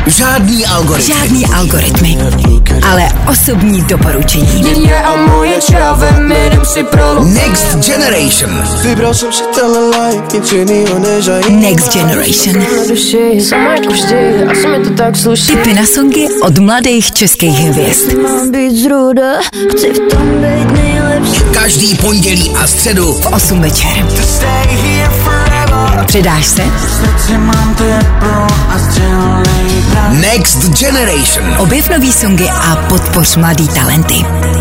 Žádný algoritmy. Ale osobní doporučení. Next Generation. Next Generation. Tipy na songy od mladých českých hvězd. Každý pondělí a středu v 8 večer. Přidáš se? Next Generation. Objev nový songy a podpoř mladý talenty.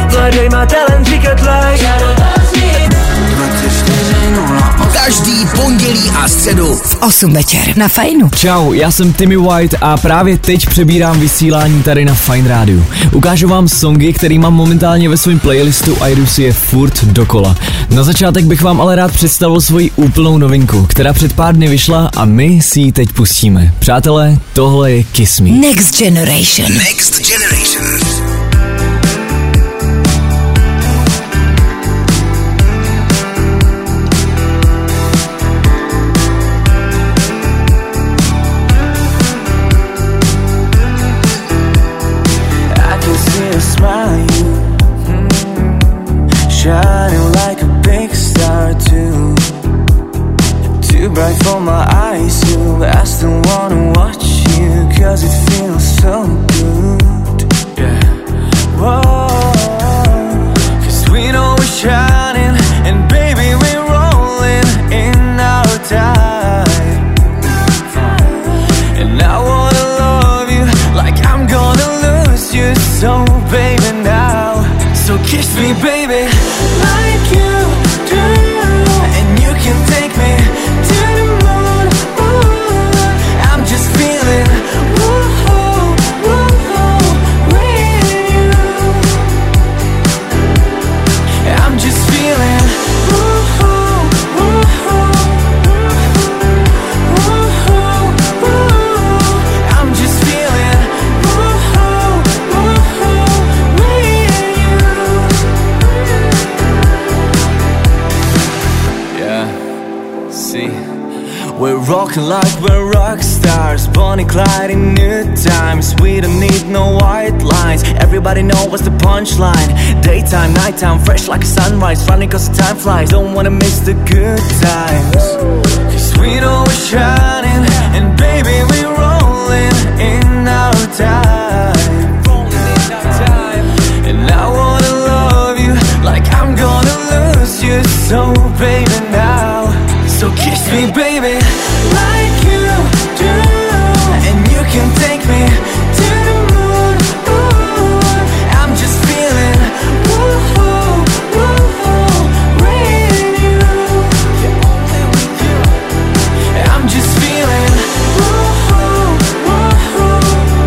Každý pondělí a středu v 8 večer na Fajnu. Čau, já jsem Timmy White a právě teď přebírám vysílání tady na Fajn rádiu. Ukážu vám songy, který mám momentálně ve svém playlistu a jdu si je furt dokola. Na začátek bych vám ale rád představil svoji úplnou novinku, která před pár dny vyšla a my si ji teď pustíme. Přátelé, tohle je Kiss Me. Next Generation. Next Generation. Shining like a big star too. Too bright for my eyes, you. I still wanna watch you, 'cause it feels so good. Yeah. Whoa. 'Cause we know we're shining, and baby we're rolling in our time. And I wanna love you like I'm gonna lose you. So baby now, so kiss me baby. Like you do, and you can take me to the moon. Ooh, I'm just feeling, woo-hoo, woo-hoo, with you. I'm just feeling, woo-hoo, woo-hoo, woo-hoo, woo-hoo. I'm just feeling, woo-hoo, woo-hoo, with you. Yeah, see, we're rocking like we're rock stars, Bonnie Clyde in new times. We don't need no white lines, everybody know what's the punchline. Daytime, nighttime, fresh like a sunrise, running 'cause the time flies, don't wanna miss the good times. 'Cause we know we're shining, and baby we're rolling in our time. And I wanna love you like I'm gonna lose you. So baby now, so kiss me baby, like you do, and you can take me to the moon. Ooh, I'm just feeling, woo-hoo, woo-hoo, with you. Yeah, only with you. I'm just feeling, woo-hoo, woo-hoo,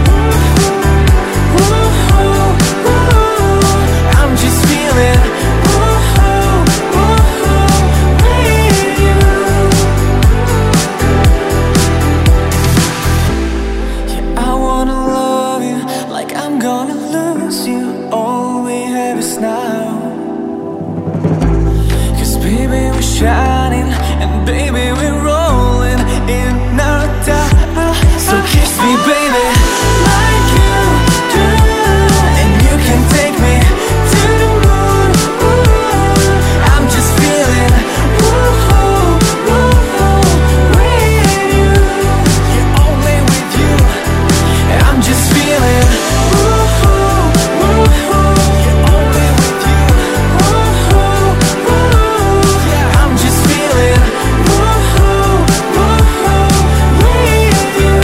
woo-hoo, woo-hoo. I'm just feeling, woo-hoo, woo-hoo, with you. Yeah, I wanna love you like I'm gonna lose you. All we have is now. 'Cause baby we're shining, and baby we're rolling in our time. So kiss me baby, like you do, and you can take me to the moon. Ooh, I'm just feeling, woo-hoo, woo-hoo, with you. Yeah, only with you. I'm just feeling, woo-hoo, woo-hoo. Yeah, only with you. Woo-hoo, woo-hoo. Yeah, I'm just feeling, woo-hoo, woo-hoo, with you.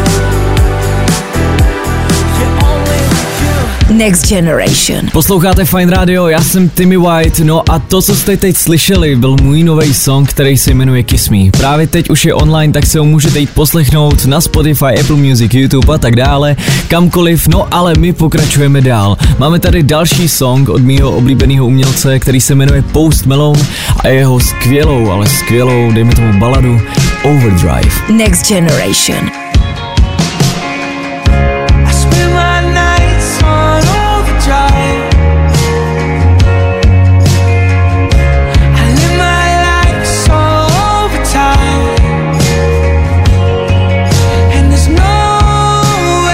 Yeah, only with you. Next Generation. Posloucháte Fajn Radio, já jsem Timmy White, no a to, co jste teď slyšeli, byl můj nový song, který se jmenuje Kiss Me. Právě teď už je online, tak se ho můžete jít poslechnout na Spotify, Apple Music, YouTube a tak dále, kamkoliv, no ale my pokračujeme dál. Máme tady další song od mýho oblíbeného umělce, který se jmenuje Post Malone a jeho skvělou, ale skvělou, dejme tomu baladu, Overdrive. Next Generation. I spend my nights on overdrive. I live my life so overtime, and there's no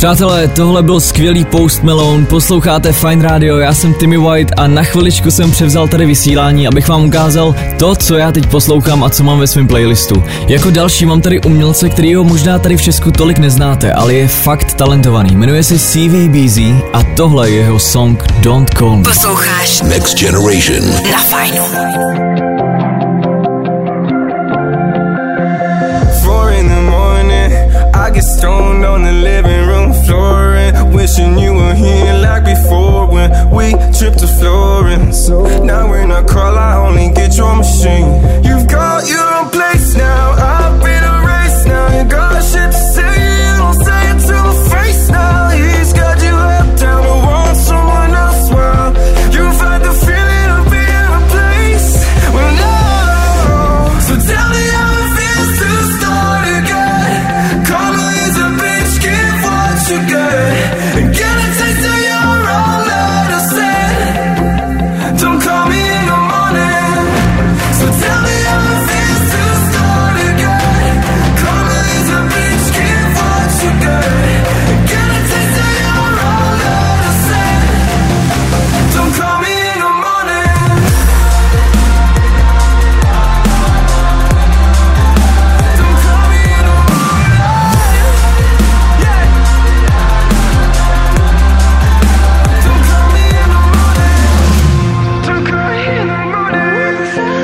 Přátelé, tohle byl skvělý Post Malone, posloucháte Fine Radio, já jsem Timmy White a na chviličku jsem převzal tady vysílání, abych vám ukázal to, co já teď poslouchám a co mám ve svém playlistu. Jako další mám tady umělce, kterýho možná tady v Česku tolik neznáte, ale je fakt talentovaný. Jmenuje se CVBZ a tohle je jeho song Don't Call Me. Posloucháš Next Generation na Fajnu. I get stoned on the living room floor and wishing you were here like before when we tripped to Florence. Now we're not call, I only get your machine. You've got your own place now, I've been erased now. You got shit to say, you don't say it to my face now. He's got you up down to want someone else. Well, you've had the feeling of being replaced. Well, no, so tell me how it feels to start again. Karma is a bitch, give what you get. And get a taste of your own medicine. Don't call me in the morning. So tell me how it feels to start again. Karma is a bitch, give what you get. And get a taste of your own medicine. Don't call me in the morning. Don't call me in the morning. Yeah. Don't call me in the morning. Don't call me in the morning.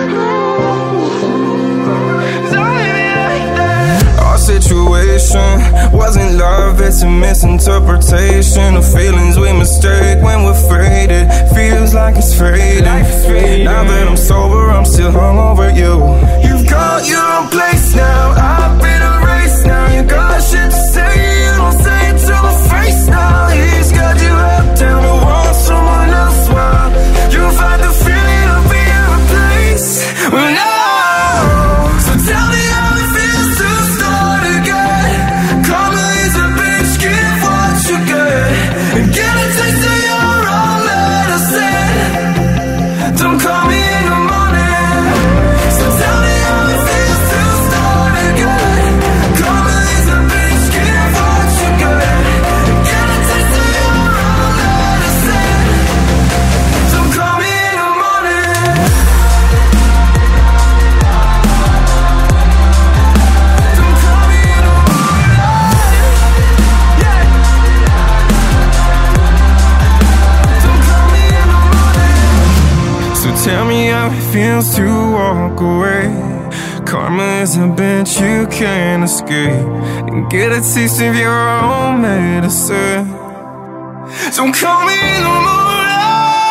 Don't leave me like that. Our situation wasn't love, it's a misinterpretation of feelings we mistake when we're faded. Feels like it's fading. Now that I'm sober, I'm still hung over you. You've got your own place now, I've been erased now. You got shit to say, you don't say it to my face now. He's got you up down to want someone else. Well, you've had the feeling of being replaced. Well, no, so tell me how it feels to start again. Karma is a bitch, give what you get. And get a taste of your own medicine. Don't call me in the morning. So tell me how it feels to start again. Karma is a bitch, give what you get. And get a taste of your own medicine. Don't call me in the morning. Don't call me in the morning. Yeah. Don't call me in the morning. So tell me how it feels to walk away. Karma is a bitch you can't escape. And get a taste of your own medicine. Don't call me in the morning.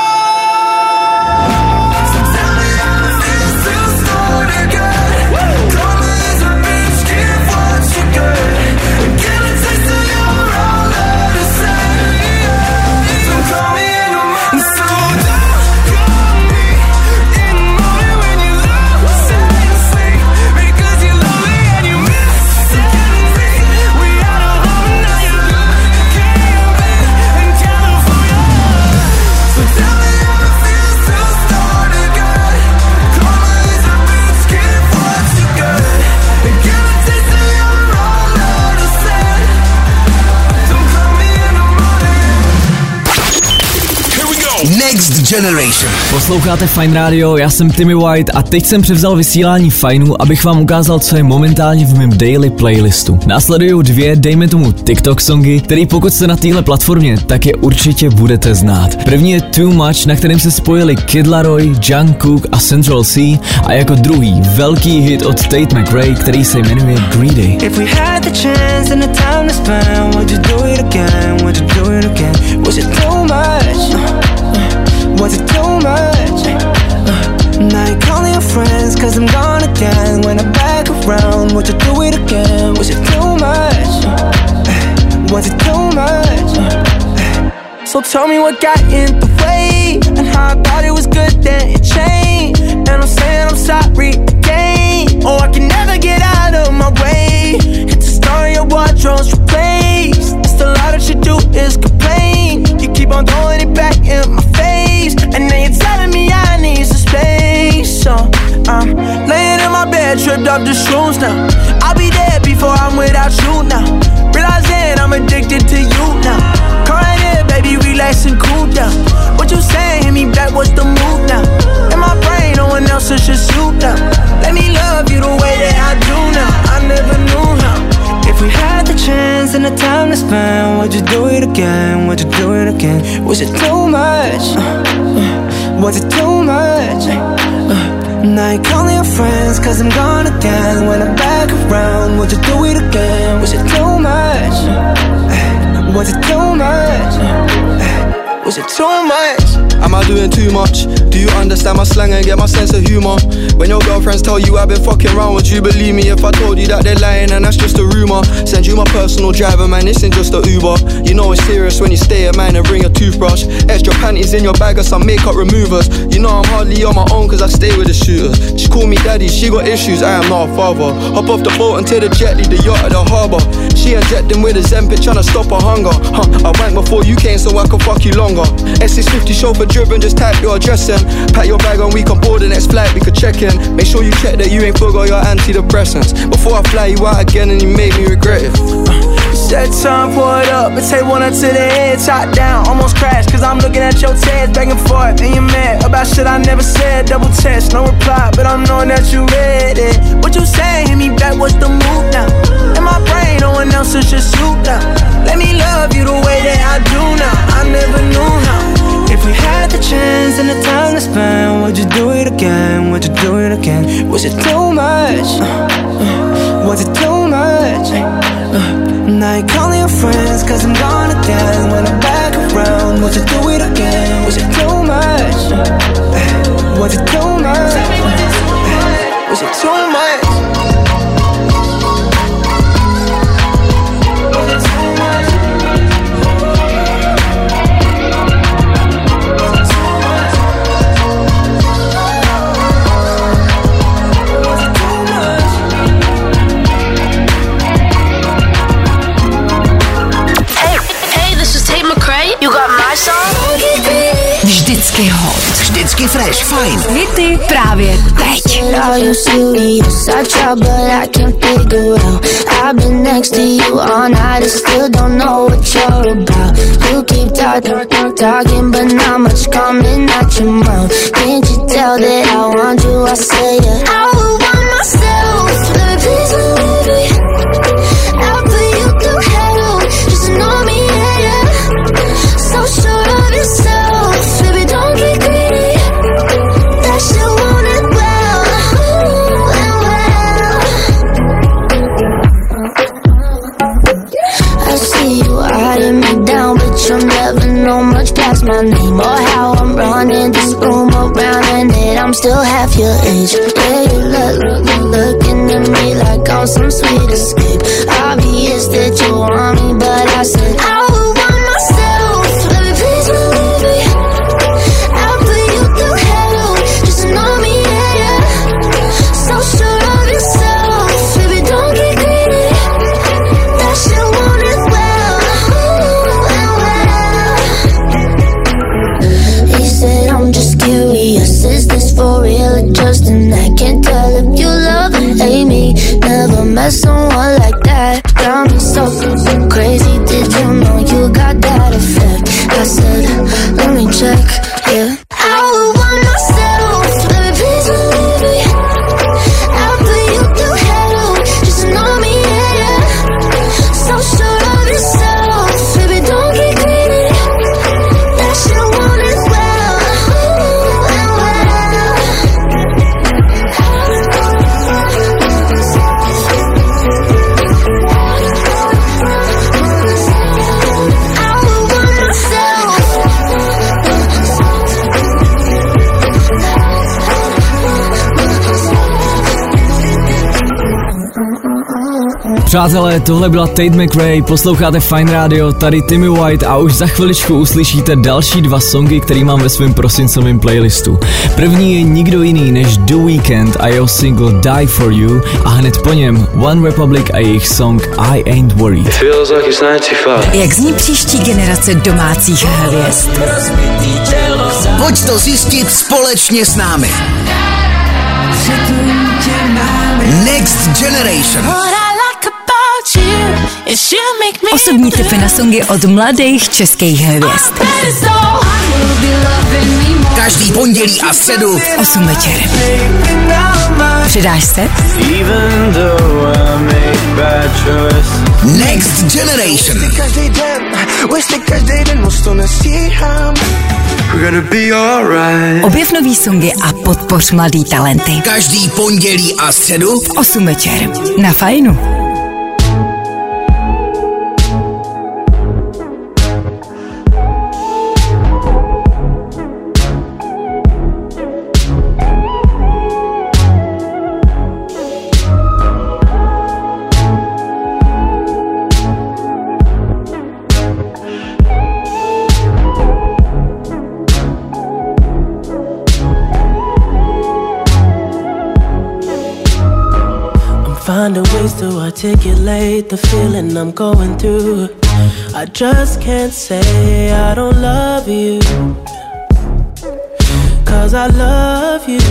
So tell me how it feels to start again. Karma is a bitch, give what you get. And get a taste of your own medicine. Don't call me in the morning. So don't call me in the morning when you lose and sleep. Because you love me and you miss me. We had a home, now you're looking in California. So tell me how it feels to start again. Karma is a bitch, give what you get. And get a taste of your own medicine. Don't call me in the morning. Here we go. Next Generation. Posloucháte Fine Radio, já jsem Timmy White a teď jsem převzal vysílání Fajnu, abych vám ukázal, co je momentálně v mém daily playlistu. Následují dvě, dejme tomu TikTok songy, který pokud jste na téhle platformě, tak je určitě budete znát. První je Too Much, na kterém se spojili Kid Laroi, Jungkook a Central C, a jako druhý velký hit od Tate McRae, který se jmenuje Greedy. If we had the chance and the time to spend, would you do it again? Would you do it again? Was it too much? Was it too much? Now you're calling your friends cause I'm gone again. When I'm back around, would you do it again? Was it too much? Was it too much? So tell me what got in the way, and how I thought it was good then it changed. And I'm saying I'm sorry again. Oh, I can never get out of my way. It's a story of wardrobes replaced. It's a lot that you do is complain. You keep on throwing it back in my face, and now you're telling me I need some space. So I'm laying in my bed, tripped up the shoes now. I'll be dead before I'm without you now. Realizing I'm addicted to you would you do it again? Would you do it again? Was it too much? Was it too much? Now you're calling your friends cause I'm gone again. When I'm back around, would you do it again? Was it too much? Was it too much? Was it too much? Am I doing too much? Do you understand my slang and get my sense of humour? When your girlfriends tell you I've been fucking around, would you believe me if I told you that they're lying and that's just a rumour? Send you my personal driver, man, this ain't just a Uber. You know it's serious when you stay at mine and bring a toothbrush. Extra panties in your bag or some makeup removers. You know I'm hardly on my own cause I stay with the shooters. She call me daddy, she got issues, I am not a father. Hop off the boat and take the jet, leave the yacht at the harbour. She injecting with a Zempic tryna stop her hunger. I went before you came so I could fuck you longer. S650 chauffeur driven, just type your address in. Pack your bag and we can board the next flight, we could check in. Make sure you check that you ain't forgot your antidepressants before I fly you out again and you made me regret it. Said time, pour it up, and take one up to the head, top down, almost crashed, cause I'm looking at your tears, back and forth, and you're mad about shit I never said, double text, no reply, but I'm knowing that you read it. What you saying, hit me back, what's the move now? In my brain, no one else is just you now. Let me love you the way that I do now, I never knew how. If we had the chance and the time to spend, would you do it again, would you do it again? Was it too much? Was it too much? Now you're calling your friends cause I'm gone again. When I'm back around, would you do it again? Was it too much? Was it too much? Was it too much? Vždycky hot, vždycky fresh, fajn. Hity právě teď. Talking, but not much coming out your mouth. Can't you tell that I want you? I say it. I would want myself. Baby, please believe me. I'll put you through hell. Just know me, yeah. So sure of yourself. Baby, don't get greedy. That shit want it well. I see you eyeing me down, but you'll never know much past my name or how I'm running this room around, and that I'm still half your age. Yeah, you looking at me like I'm some sweet escape. Obvious that you want me, but I said I would want myself. Baby, please believe me. I'll put you through hell. Just know me, yeah. So sure of yourself. Baby, don't get greedy. That shit want it well. He said I'm just curious. Is this for real or just an act? Can't tell if you love or hate me. Never met someone like that. Got me so crazy. Did you know you got that effect? I said, let me check, yeah. I would want myself. Baby, please believe me. I'll put you through hell. Just know me, yeah. So sure of yourself. Baby, don't get greedy. That shit want it well. I would want myself. Přátelé, tohle byla Tate McRae, posloucháte Fine Radio, tady Timmy White a už za chviličku uslyšíte další dva songy, který mám ve svém prosincovém playlistu. První je nikdo jiný než The Weeknd a jeho single Die For You a hned po něm One Republic a jejich song I Ain't Worried. Jak zní příští generace domácích hvězd? Pojď to zjistit společně s námi. Next Generation. Osobní tipy na songy od mladých českých hvězd. Každý pondělí a středu v 8 večer. Přidáš se? Next Generation. Objev nový songy a podpoř mladý talenty. Každý pondělí a středu v 8 večer. Na Fajnu. Finding ways to articulate the feeling I'm going through. I just can't say I don't love you, 'cause I love you.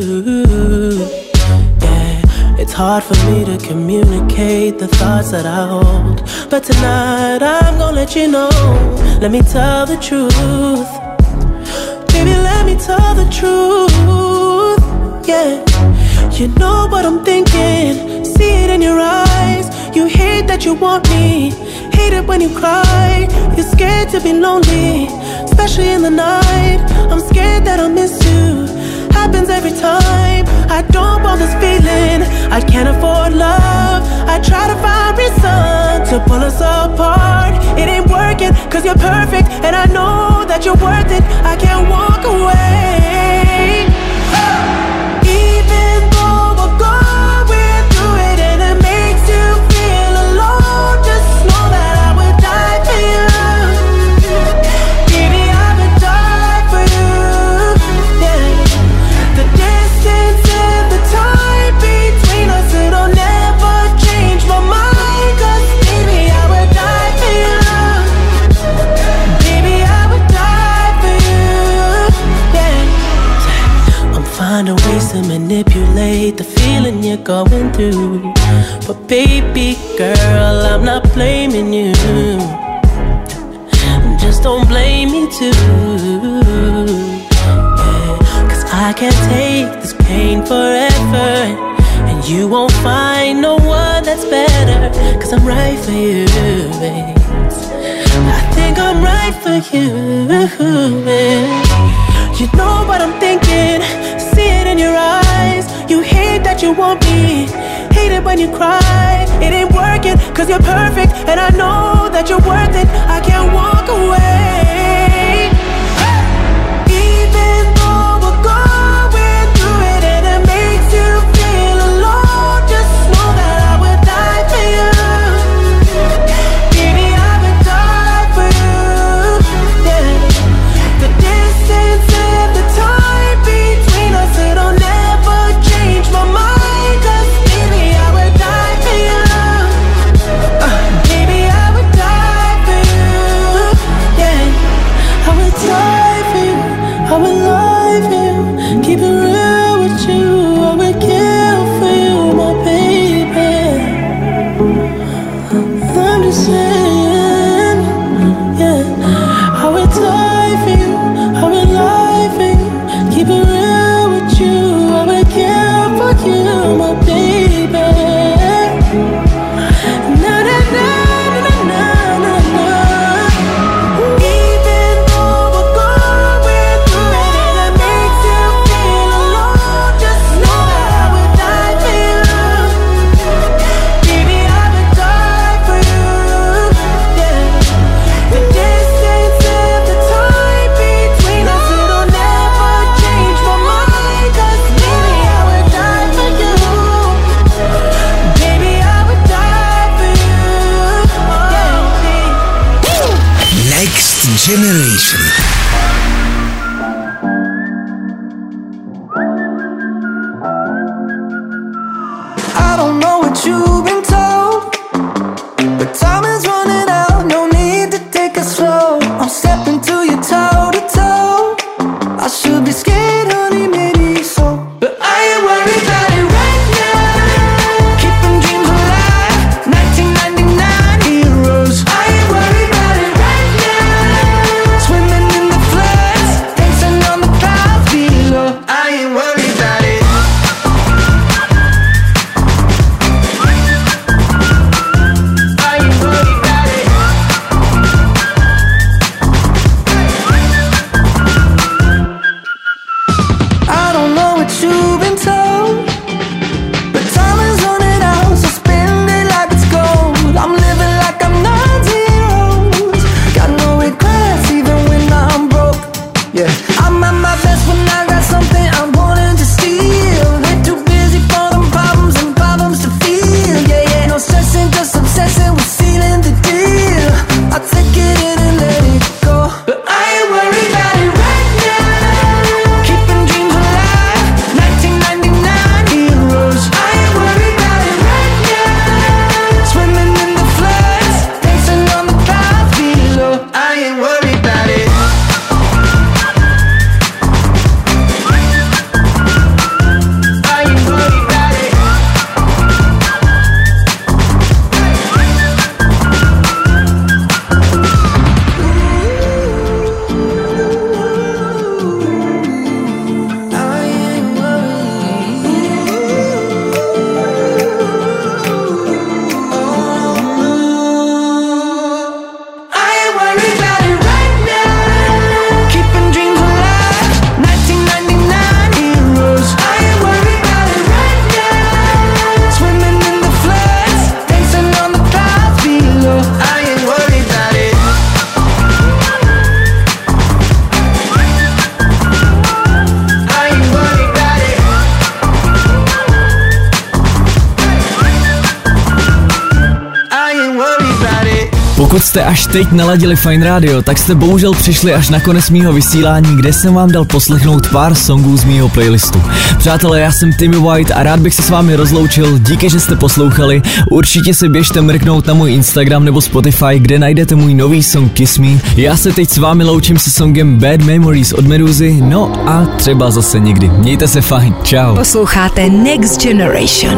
Yeah, it's hard for me to communicate the thoughts that I hold, but tonight I'm gonna let you know. Let me tell the truth. Baby, let me tell the truth. Yeah, you know what I'm thinking. See it in your eyes. You hate that you want me. Hate it when you cry. You're scared to be lonely, especially in the night. I'm scared that I'll miss you. Happens every time. I don't want this feeling. I can't afford love. I try to find reason to pull us apart. It ain't working 'cause you're perfect, and I know that you're worth it. I can't walk away. Even though we're going through it and it makes you feel alone, just know that I would die for you. Baby, I would die for you. Yeah. The distance and the time between us, it'll never change my mind. 'Cause baby, I would die for you. Baby, I would die for you. Yeah. I'm finding ways to manipulate the feeling you're going through, but baby girl, I'm not blaming you. Just don't blame me too. Yeah. 'Cause I can't take this pain forever, and you won't find no one that's better. 'Cause I'm right for you, babe. I think I'm right for you, babe. You know what I'm thinking. See it in your eyes. You hate that you want me. Hate it when you cry. It ain't working 'cause you're perfect, and I know that you're worth it. I can't walk away. Even though we're going through it and it makes you feel alone, just know that I would die for you. Baby, I would die for you. Yeah. The distance and the time between us, it'll never change my mind. 'Cause baby, I would die for you. Baby, I would die for you. Yeah, I would die for you. I would lie for you. Keep it real with you. I would kill for you, my baby. I'm just saying, yeah, I would die for you. I would lie for you. Keep it real with you. I would kill for you, my baby. Na na na na na na na. Even though we're going through it and it makes you feel alone, just know that I would die for you. Baby, I would die for you. Yeah. The distance and the time between us, it'll never change my mind. 'Cause baby, I would die for you. Baby, I would die for you. Yeah. Next Generation. I don't know what you've been told, but time is running out. No need to take it slow. I'm stepping to you toe to toe. I should be scared, honey, maybe so, but I ain't worried about it right now. Keeping dreams alive, 1999 heroes. I ain't worried about it right now. Swimming in the flood. jste až teď naladili Fine Radio, tak jste bohužel přišli až na konec mýho vysílání, kde jsem vám dal poslechnout pár songů z mýho playlistu. Přátelé, já jsem Timmy White a rád bych se s vámi rozloučil, díky, že jste poslouchali. Určitě si běžte mrknout na můj Instagram nebo Spotify, kde najdete můj nový song Kiss Me. Já se teď s vámi loučím se songem Bad Memories od Meduzy, no a třeba zase někdy. Mějte se fajn, čau. Posloucháte Next Generation.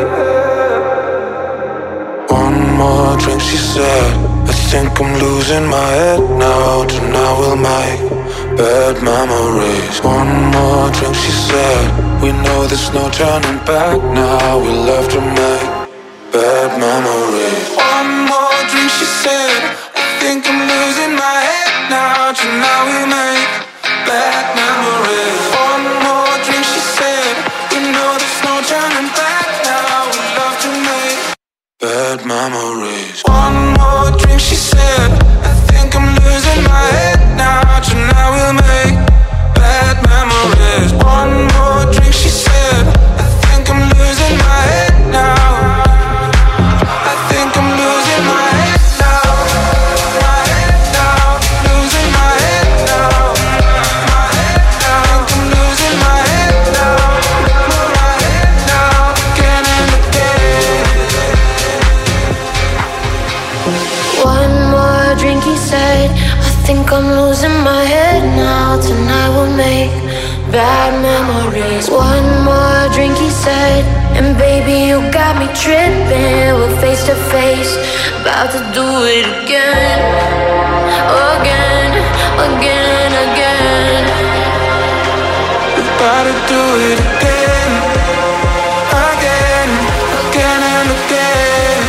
One more drink, she said. I think I'm losing my head now. Tonight we'll make bad memories. One more drink, she said. We know there's no turning back now. We'll have to make bad memories. One more drink, she said. I think I'm losing my head now. Tonight we'll make bad memories. One more drink, she said. We know there's no turning back now. We'll have to make bad memories. One more drink, she said. I think I'm losing my head now. Tonight we'll make bad memories. One more drink, she said. I think I'm losing my head now. I think I'm losing my head now. My head now. Losing my head now. My head now. I think I'm losing my head now. My head now. Again and again. One more drink, he said. I think I'm losing my head now. Tonight we'll make bad memories. One more drink, he said. And baby, you got me tripping. We're face to face, about to do it again. Again, again, again. We're about to do it again. Again, again and again.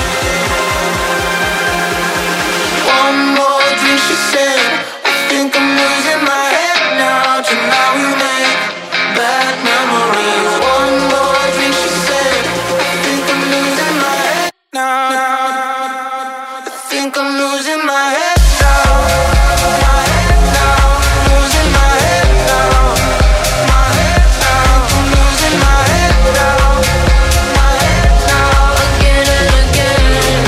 One more drink, she said. I think I'm losing my head now. Tonight we make bad memories. One more drink, she said. I think I'm losing my head now. I think I'm losing my head now. My head now. Losing my head now. My head now. I'm losing my head now. My head now. Again and again.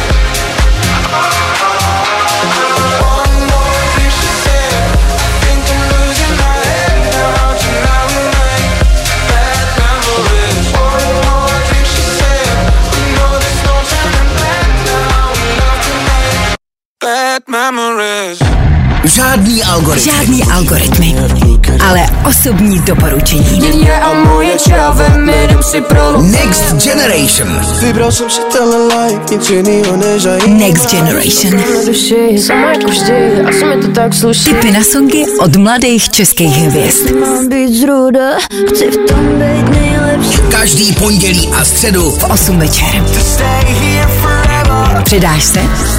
One more drink, she said. I think I'm losing my head now. Tonight we make bad memories. One more drink, she said. We know there's no turning back now. We love to make bad memories. Žádný algoritmy, ale osobní doporučení. Next Generation. Next Generation. Tipy na songy od mladých českých hvězd. Každý pondělí a středu v 8 večer. Přidáš se?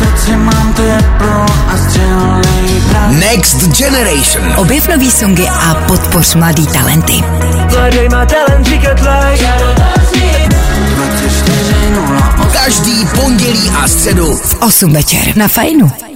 Next Generation. Objev nový songy a podpoř mladý talenty. Každý pondělí a středu v 8 večer na Fajnu.